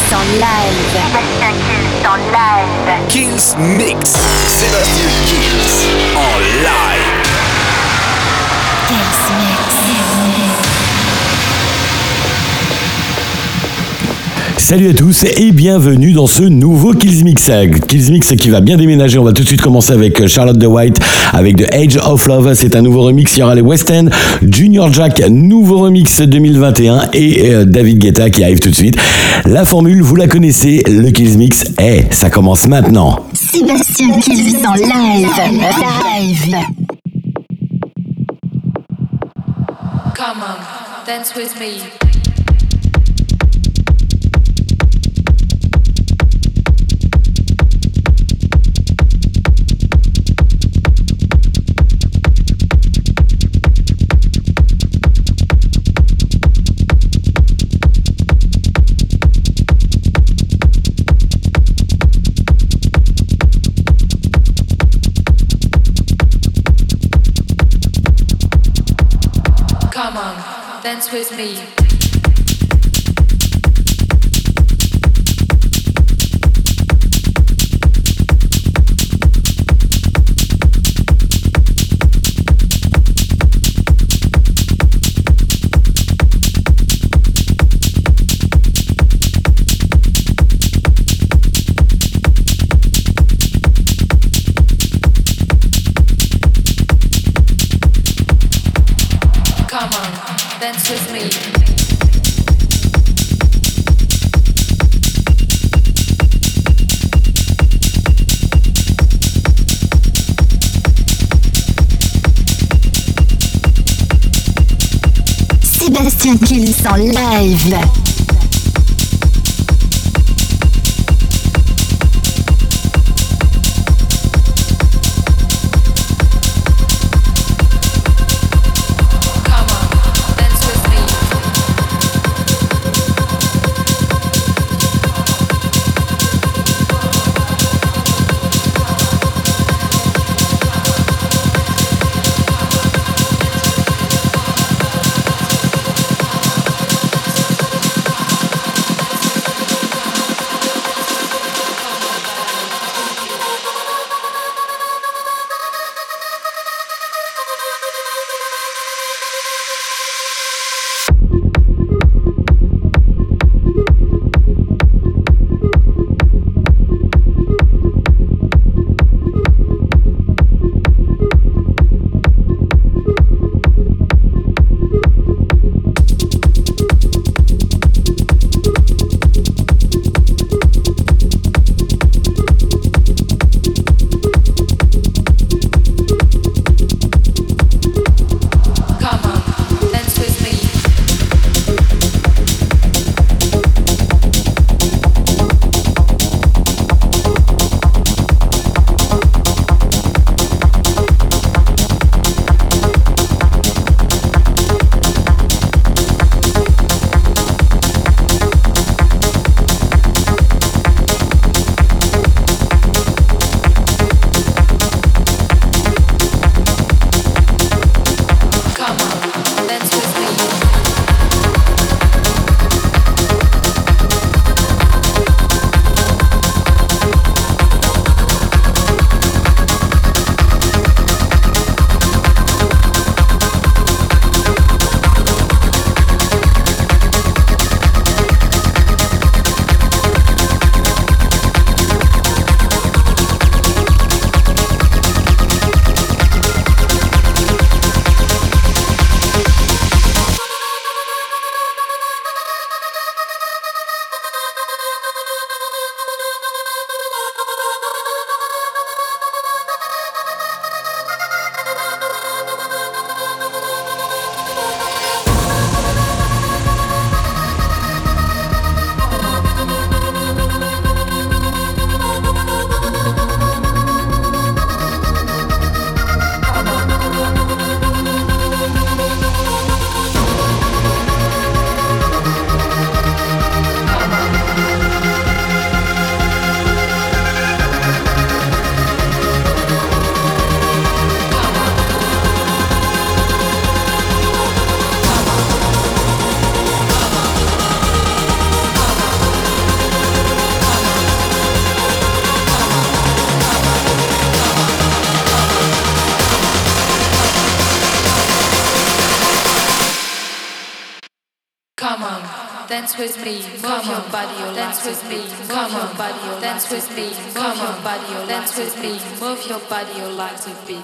en live. Sébastien Kills en live. Kills Mix. Sébastien Kills en live. Kills Mix. Salut à tous et bienvenue dans ce nouveau Kills Mix. Kills Mix qui va bien déménager. On va tout de suite commencer avec Charlotte de White avec The Age of Love. C'est un nouveau remix. Il y aura les West End, Junior Jack, nouveau remix 2021 et David Guetta qui arrive tout de suite. La formule, vous la connaissez. Le Kills Mix, ça commence maintenant. Sébastien Kills en live. Live. Come on, dance with me. Come on, dance with me. Come on, dance with me. Sébastien Kills en live. Come on, dance with me. dance with me, move your body, or dance with me, move your body, or dance with me, move your body, or dance with me, move your body, or like to be.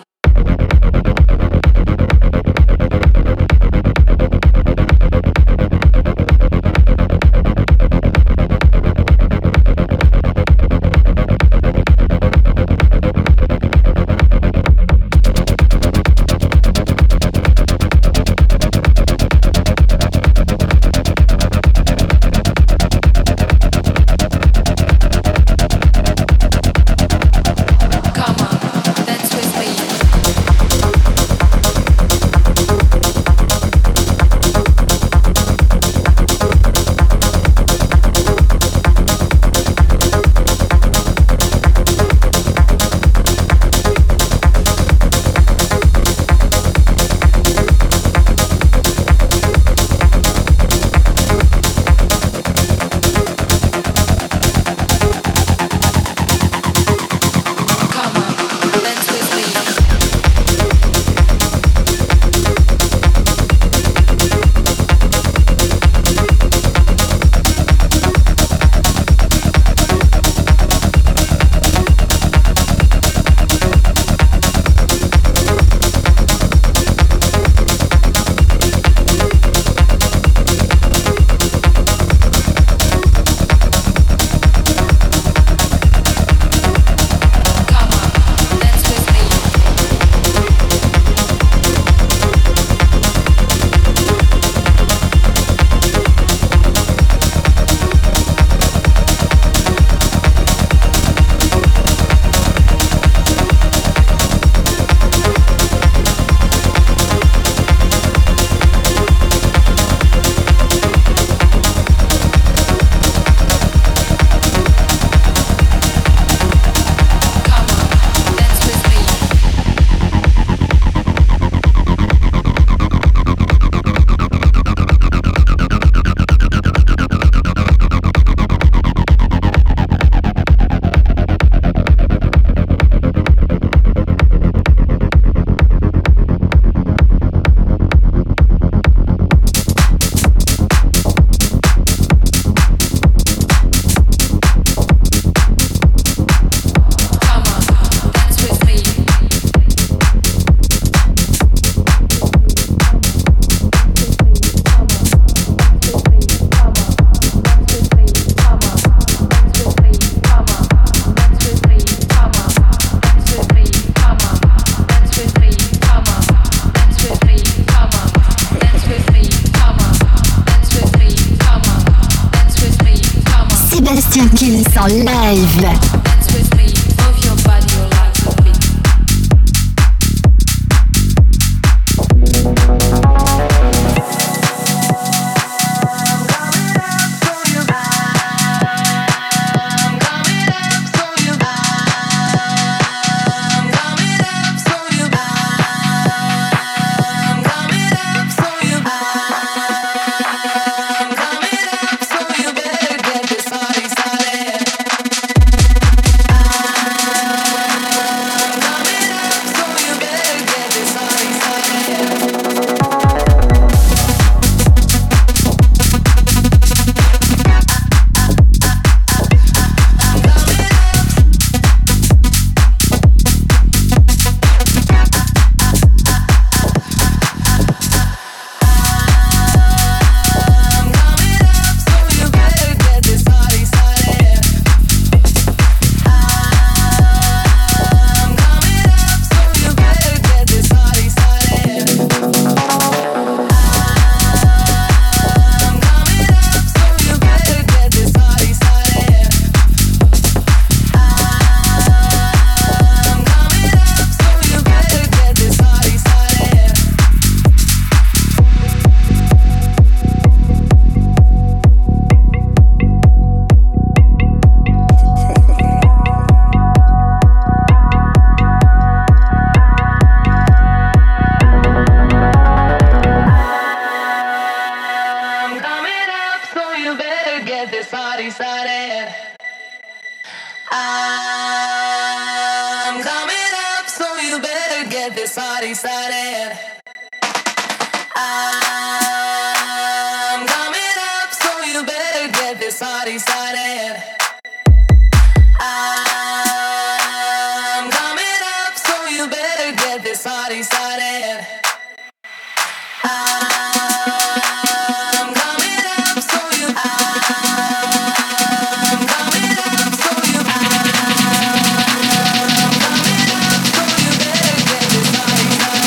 Sébastien Kills en live. Dance with me, move your body, or like to be. party started. I'm coming up, so you better party started. I'm coming up, so you better get this party started. I'm coming up, so you better get this party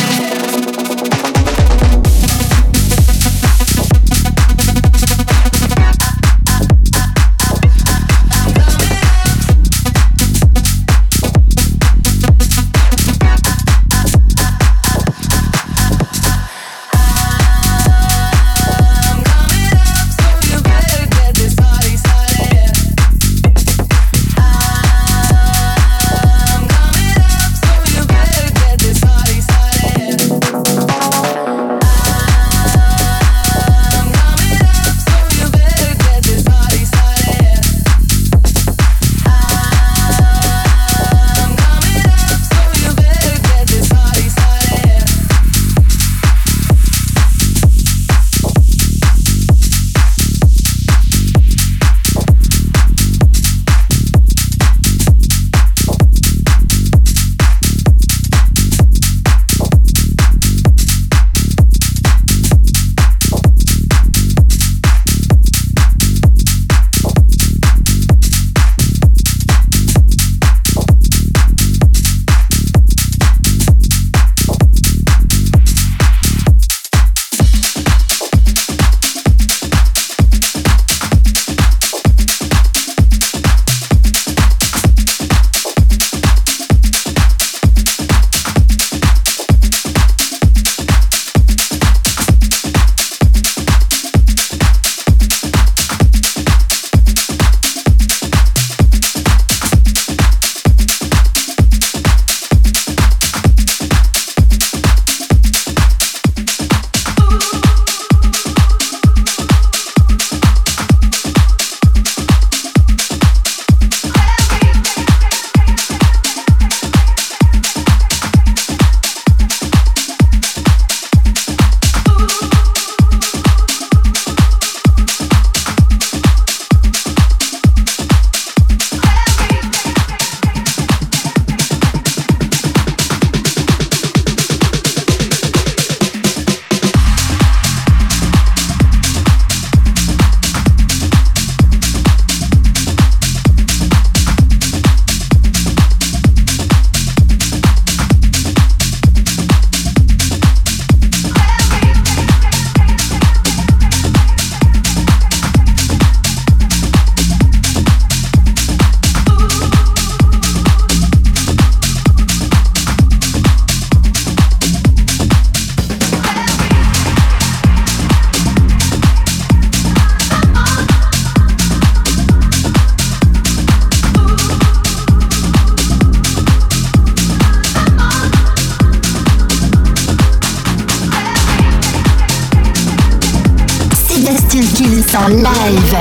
en live.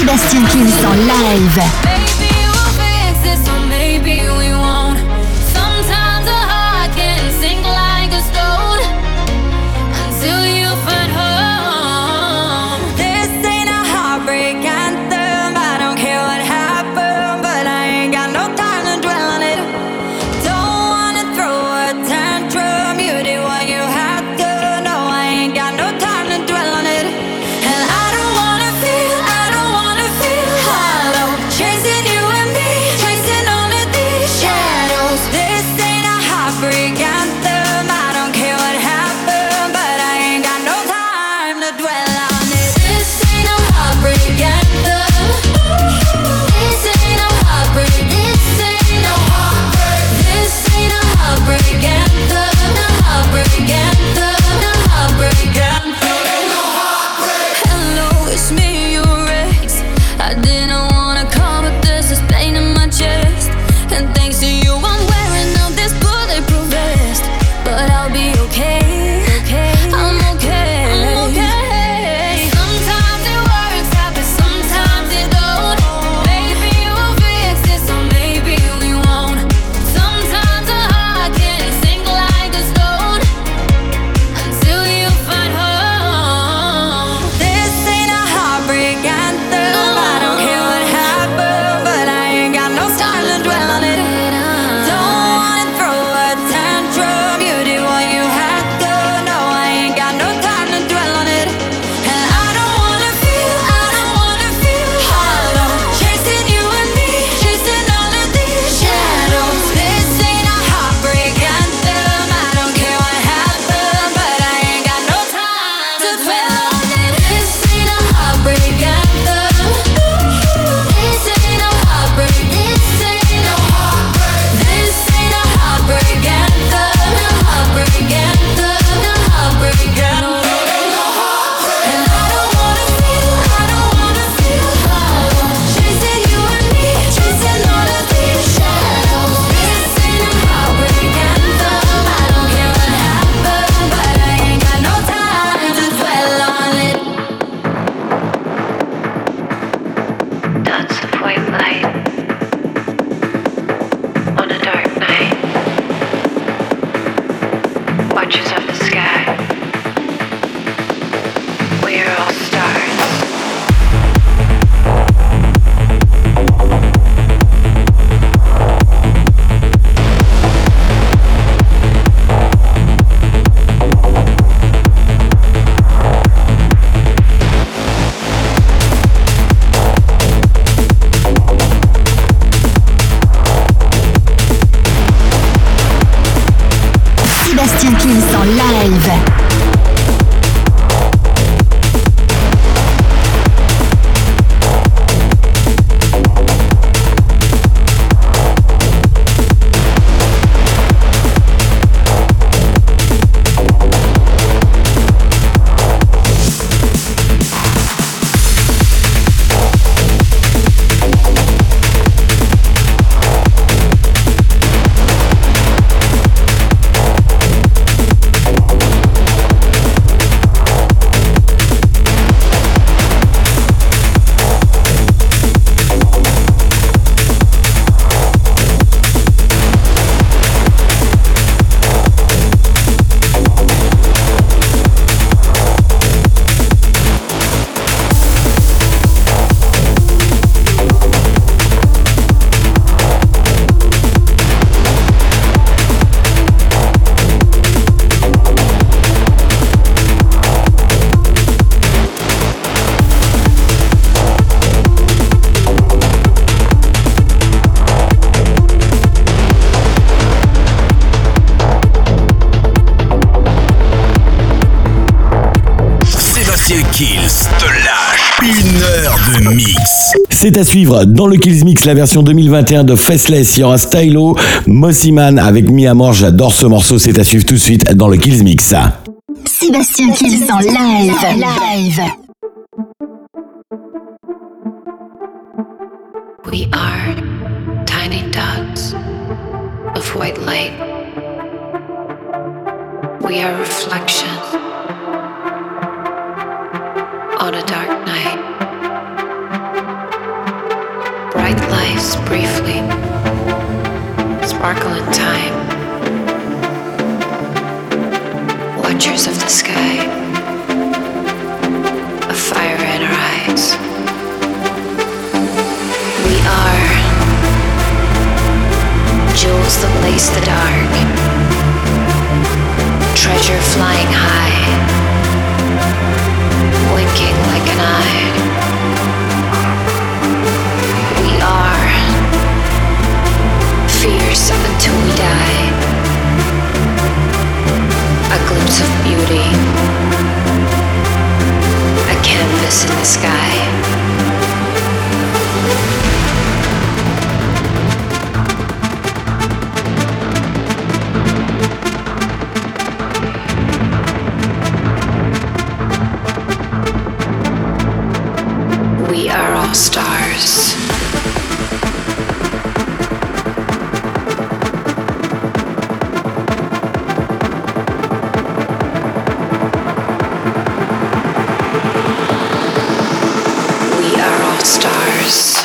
Sébastien Kills en live. Maybe we'll fix this or maybe we won't. Sometimes a heart can sink like a stone until you find home. This ain't a heartbreak anthem. I don't care what happened, but I ain't got no time to dwell on it. Don't wanna throw a tantrum. You did what you had to. No, I ain't got no time to dwell on it. And I don't wanna feel hollow. Chasing you and me, chasing only these shadows. This ain't a heartbreak anthem. I don't care what happened, but I ain't got no time to dwell on it. This ain't no heartbreak anthem. This ain't no heartbreak. This ain't no heartbreak. This ain't no heartbreak anthem. No heartbreak anthem. No heartbreak anthem. No heartbreak. Hello, it's me, your ex. I didn't wanna call, but there's this pain in my chest. And thanks to you, I'm wearing out this bulletproof vest. But I'll be okay. I'm okay. Sometimes it works out, but sometimes it don't. Maybe we'll fix this or maybe we won't. Sometimes a heart can sink like a stone until you find home. This ain't a heartbreak anthem. I don't care what happened, but I ain't got no time to dwell on it. Don't wanna throw a tantrum. You did what you had to. No, I ain't got no time to dwell on it. And I don't wanna feel hollow. Chasing you and me, chasing all of these shadows. This ain't a heartbreak anthem. I don't care what happened, but I ain't got no time to dwell on it. This ain't a heartbreak anthem. This ain't no heartbreak. This ain't no heartbreak. This ain't a heartbreak anthem. No heartbreak anthem. No heartbreak anthem. And I don't wanna feel hollow. Chasing you and me, chasing all of these shadows. This ain't a heartbreak anthem. I don't care what happened, but I ain't got no time to dwell on it. Dots of white light on a dark night. Watches of the sky. We are all stars. Sébastien Kills en live. Kills te lâche 1 heure de mix. C'est à suivre dans le Kills Mix, la version 2021 de Faceless. Il y aura Stylo, Mossiman avec Mi Amor. J'adore ce morceau. C'est à suivre tout de suite dans le Kills Mix. Sébastien Kills en live. We are tiny dots of white light. We are reflection on a dark night. Bright lights briefly sparkle in time. Watchers of the sky, a fire in our eyes. We are jewels that lace the dark, treasure flying high, blinking like an eye. We are fierce until we die, a glimpse of beauty, a canvas in the sky. We are all stars. We are all stars.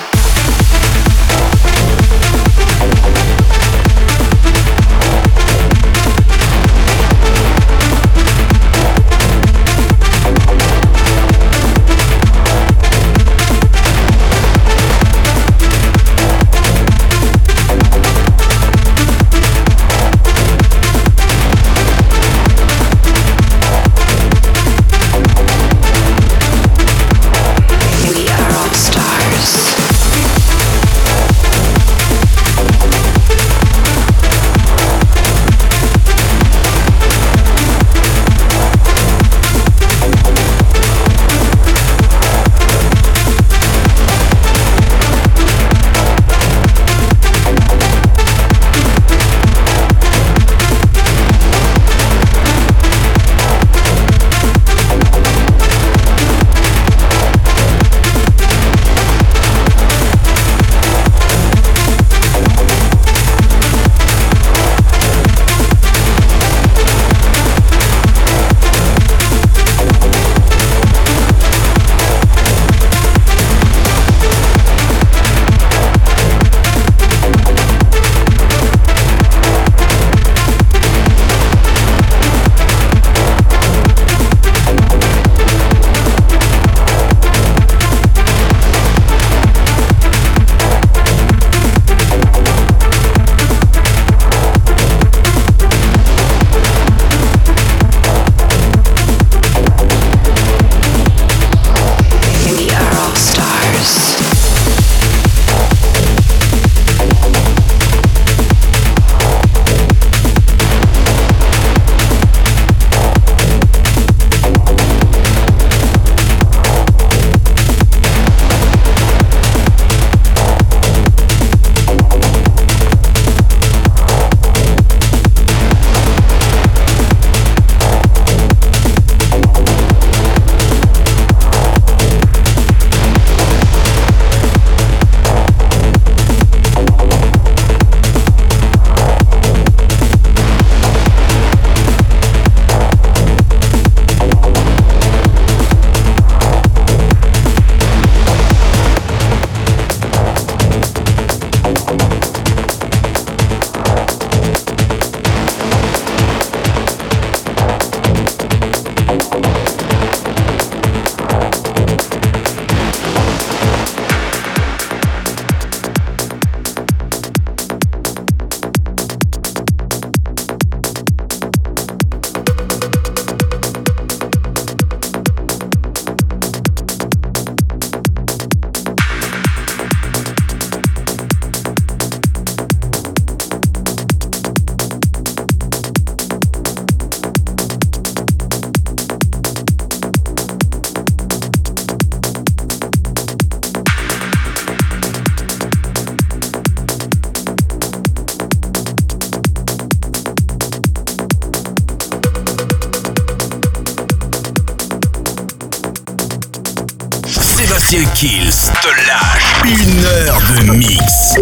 Sébastien Kills te lâche 1 heure de mix.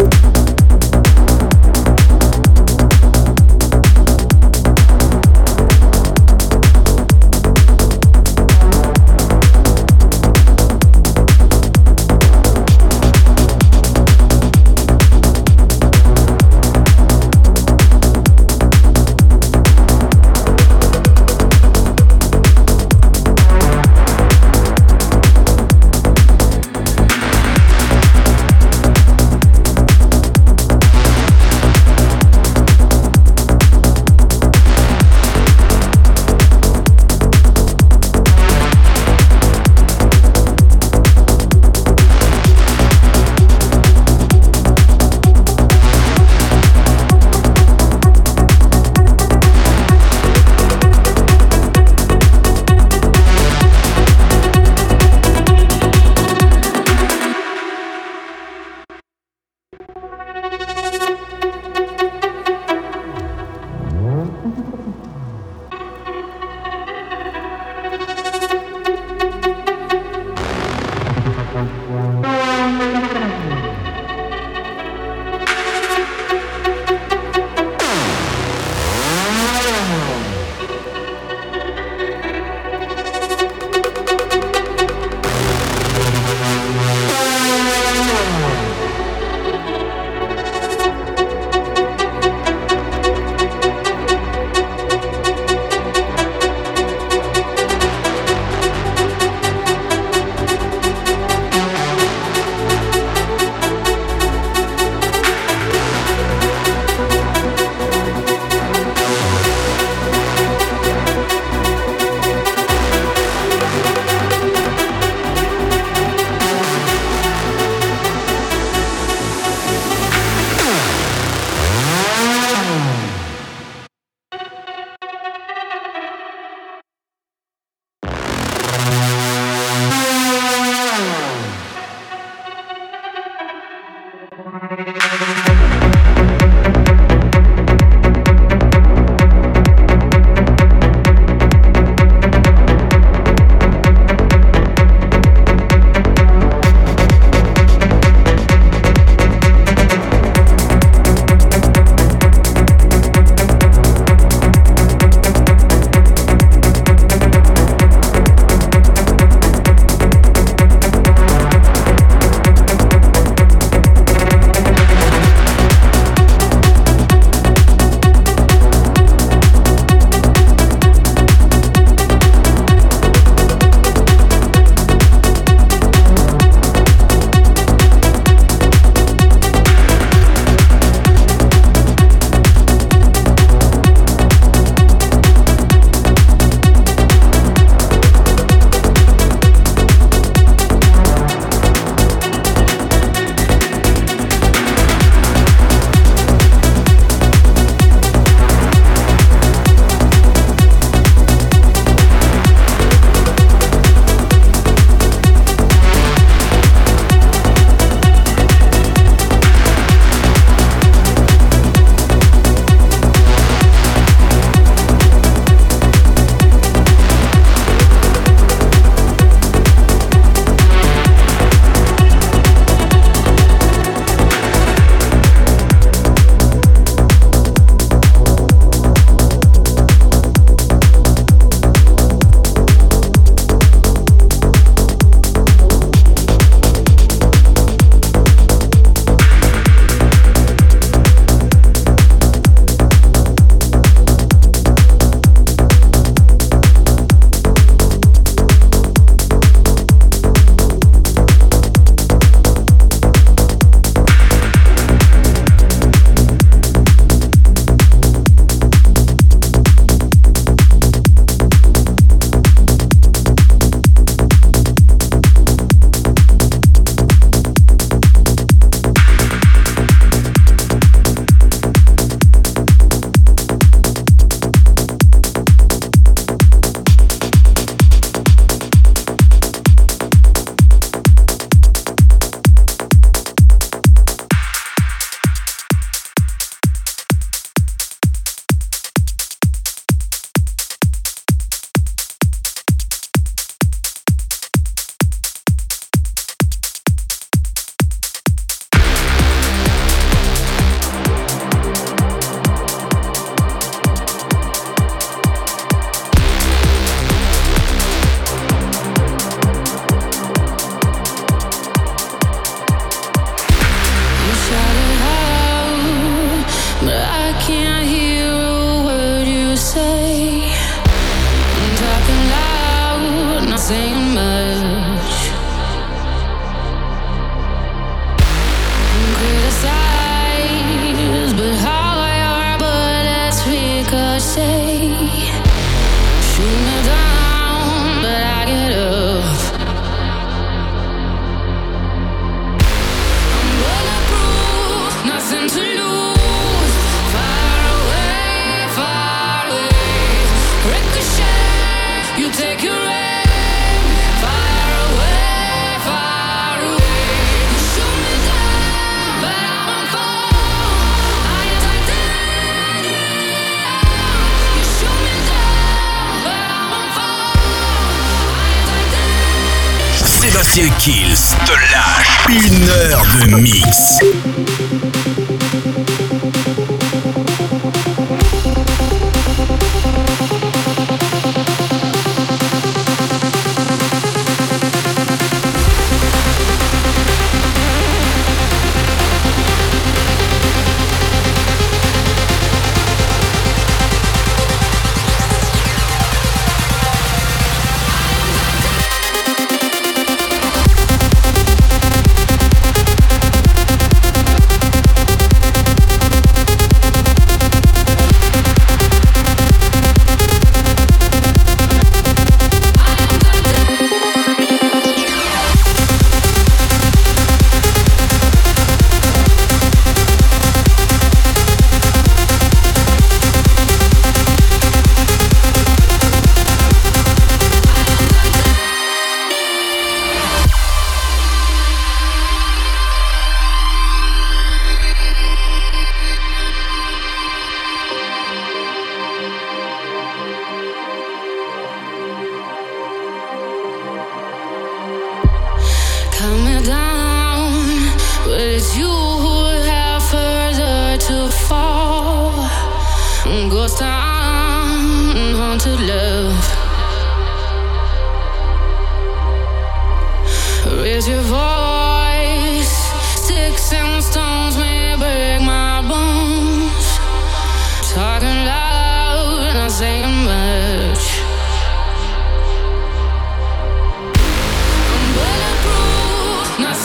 Sébastien Kills te lâche 1 heure de mix.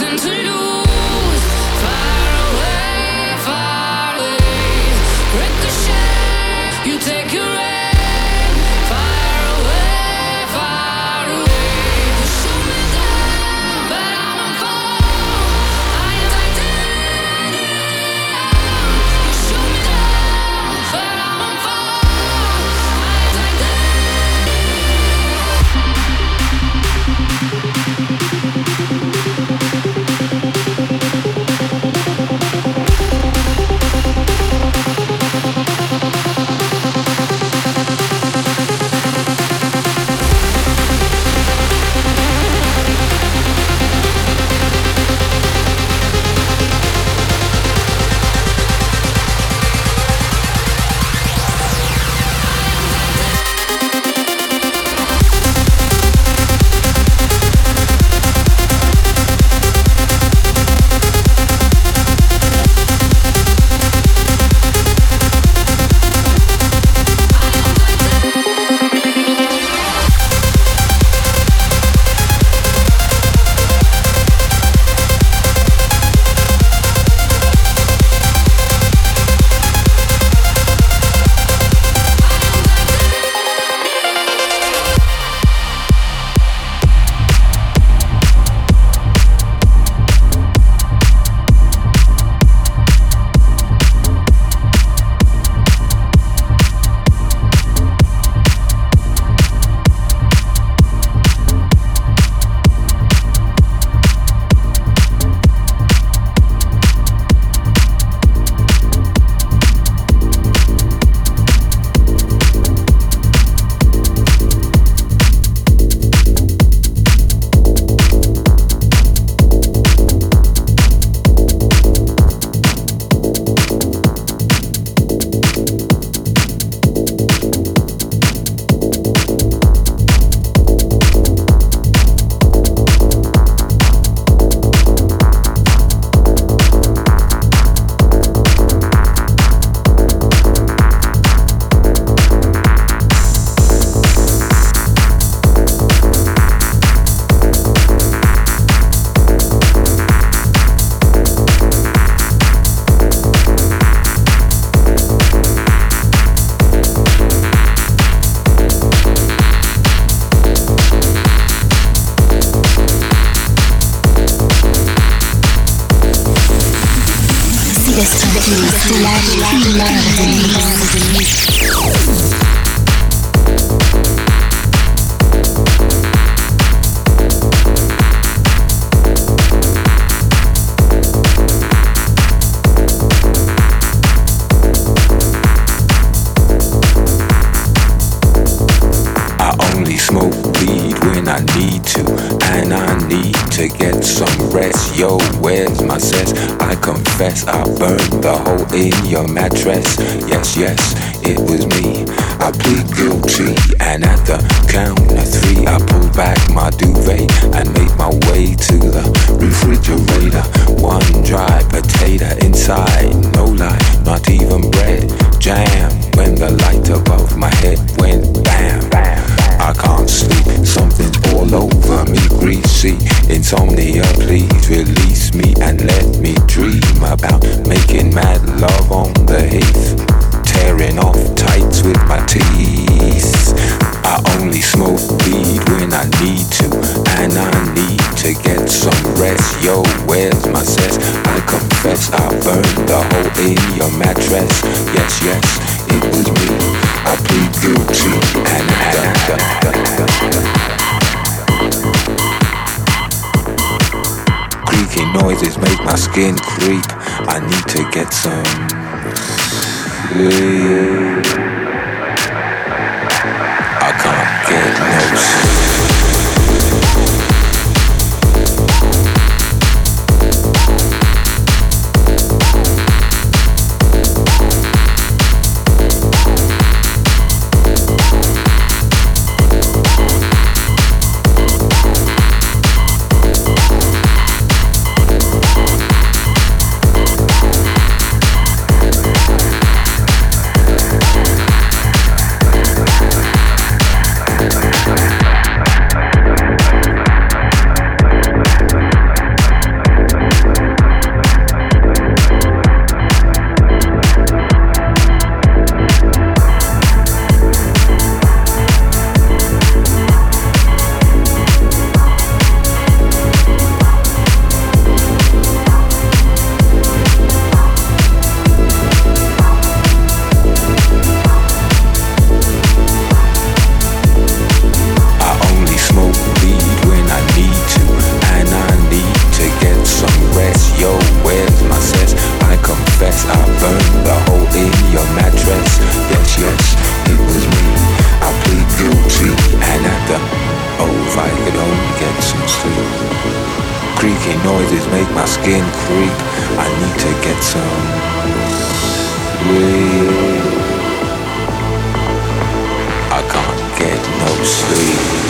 nothing to lose. Far away, far away. Ricochet, you take your aim. Far away, far away. You shoot me down, but I'm on fall. I am titanium. You shoot me down, but I'm on fall. I am titanium. I burned the hole in your mattress. Yes, yes, it was me. I plead guilty, and at the count of three, I pulled back my duvet and made my way to the refrigerator. One dry potato inside, no lie, not even bread. Jam when the light above my head went bam, bam. I can't sleep, something's all over me, greasy. Insomnia, please release me and let me dream about making mad love on the heath, tearing off tights with my teeth. I only smoke weed when I need to, and I need to get some rest. Yo, where's my cess? I confess I burned the hole in your mattress. Yes, yes, it was me. I plead guilty and creaky noises make my skin creep. I need to get some sleep. I can't get no sleep. skin creep. I need to get some sleep. I can't get no sleep.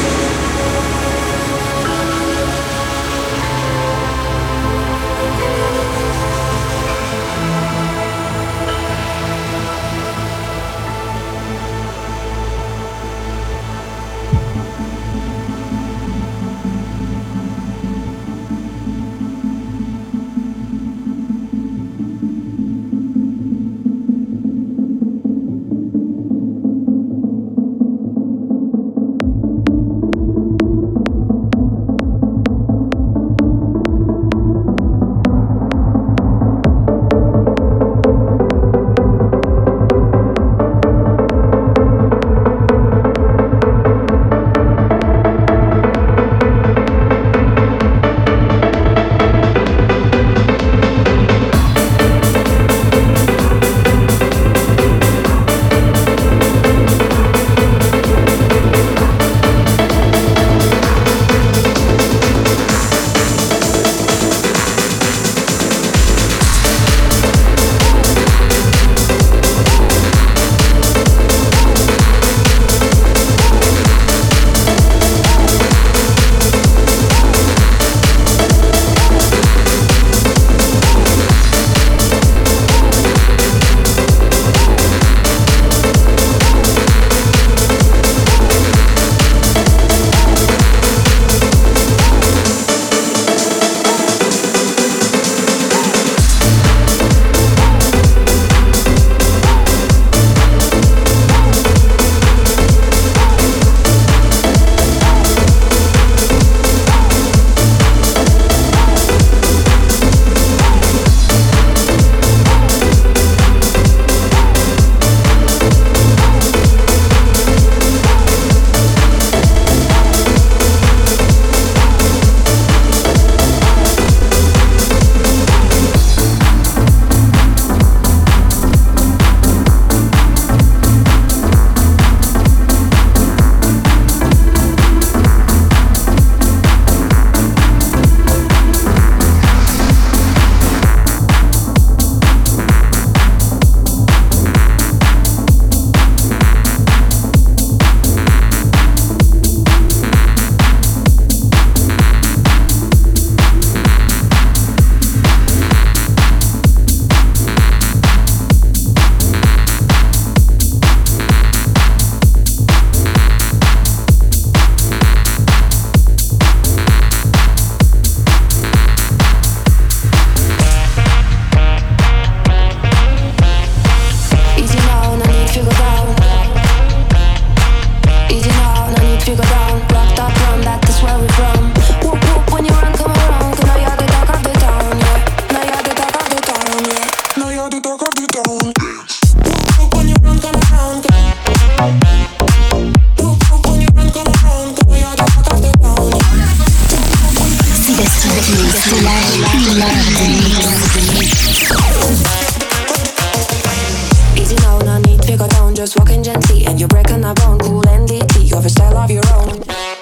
Easy now, no need to go down, just walking gently, and you're breaking a bone, cool and deeply. You have a style of your own.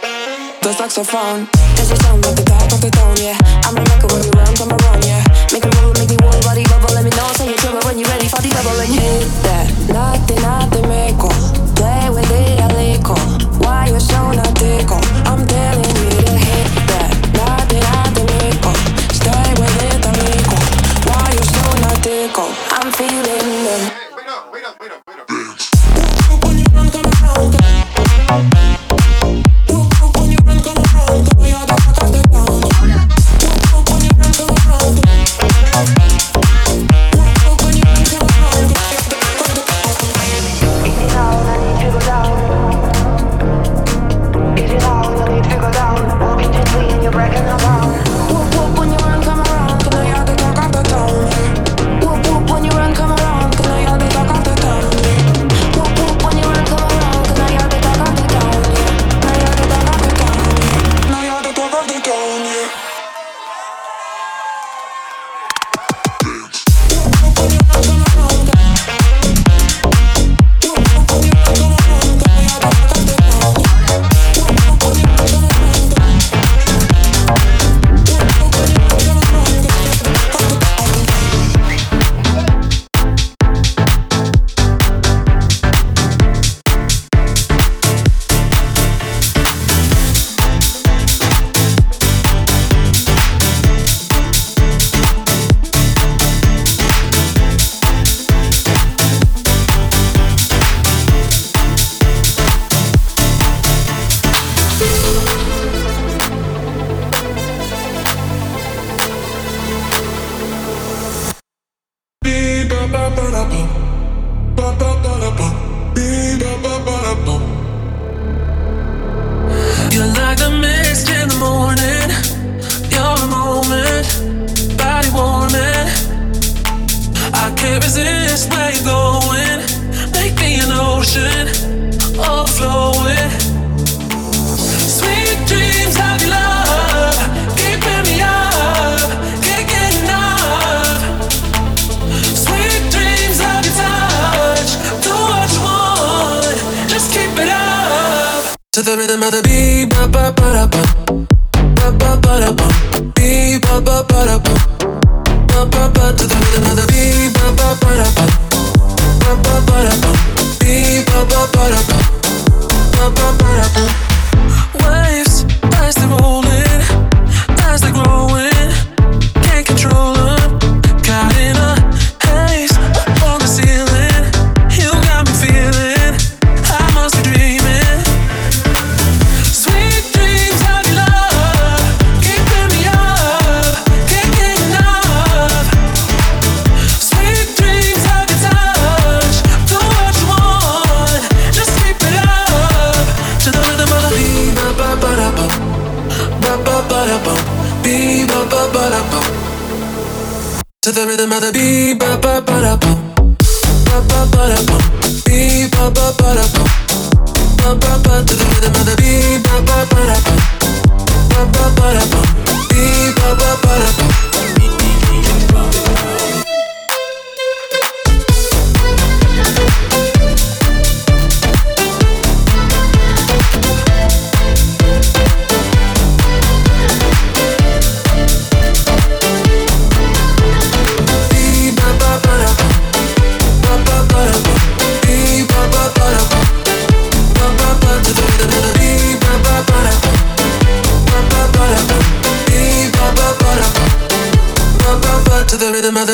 The saxophone, does it sound like the top of the tone, yeah. I'm a record when you run, come around, yeah. Make me move, make me whole body bubble, let me know, say you're trouble when you're ready for the double and hit that. Nothing, make play with it a little. Why you so not tickle? I'm telling you to hit that. Nothing, make stay with it a little. Why you so not tickle? I'm feeling them. Wait up. When you run, come around. When you run, come around, come you're the back of the town. can't resist where you're going. Make me an ocean, overflowing. Sweet dreams of your love, keeping me up, can't get enough. Sweet dreams of your touch, do what you want, just keep it up. To the rhythm of the beat, ba ba ba da ba, ba ba ba da ba, beat ba ba ba da ba, ba ba ba. To the rhythm of the beat, ba ba ba da ba, ba ba ba da ba, beat ba ba ba da ba, ba ba ba da ba. Waves, as they're rolling, as they're growing, can't control them. Caught in a haze up on the ceiling, you got me feeling I must be dreaming. Sweet dreams of your love, keeping me up, can't get enough. Sweet dreams of your touch, do what you want, just keep it up. To the rhythm of the beat, ba ba ba da ba, ba ba ba da ba, beat ba ba ba da ba. To the rhythm of the beat, ba ba ba da ba, ba ba ba da ba, beat ba ba ba da ba, ba ba ba. To the rhythm of the beat, ba ba ba da ba, ba ba ba da ba, beat ba ba ba da ba. To the rhythm of the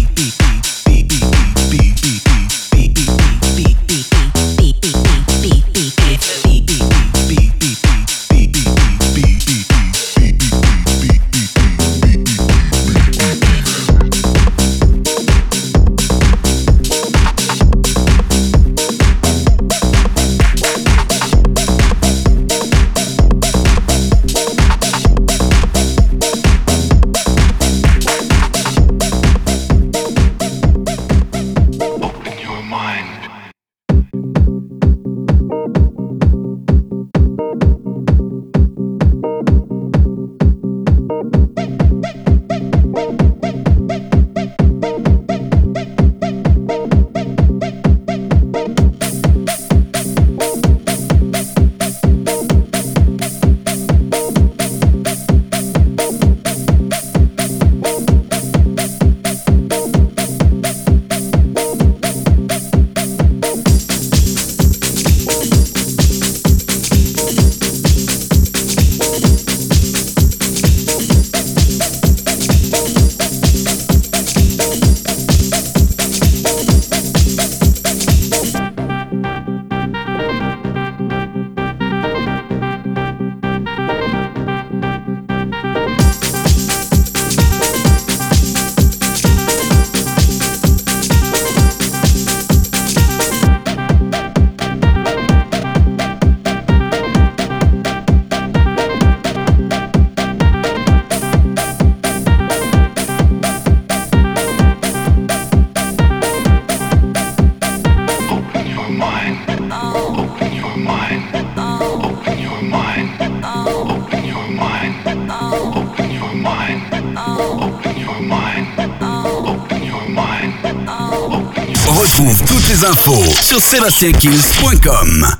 les infos sur SébastienKills.com.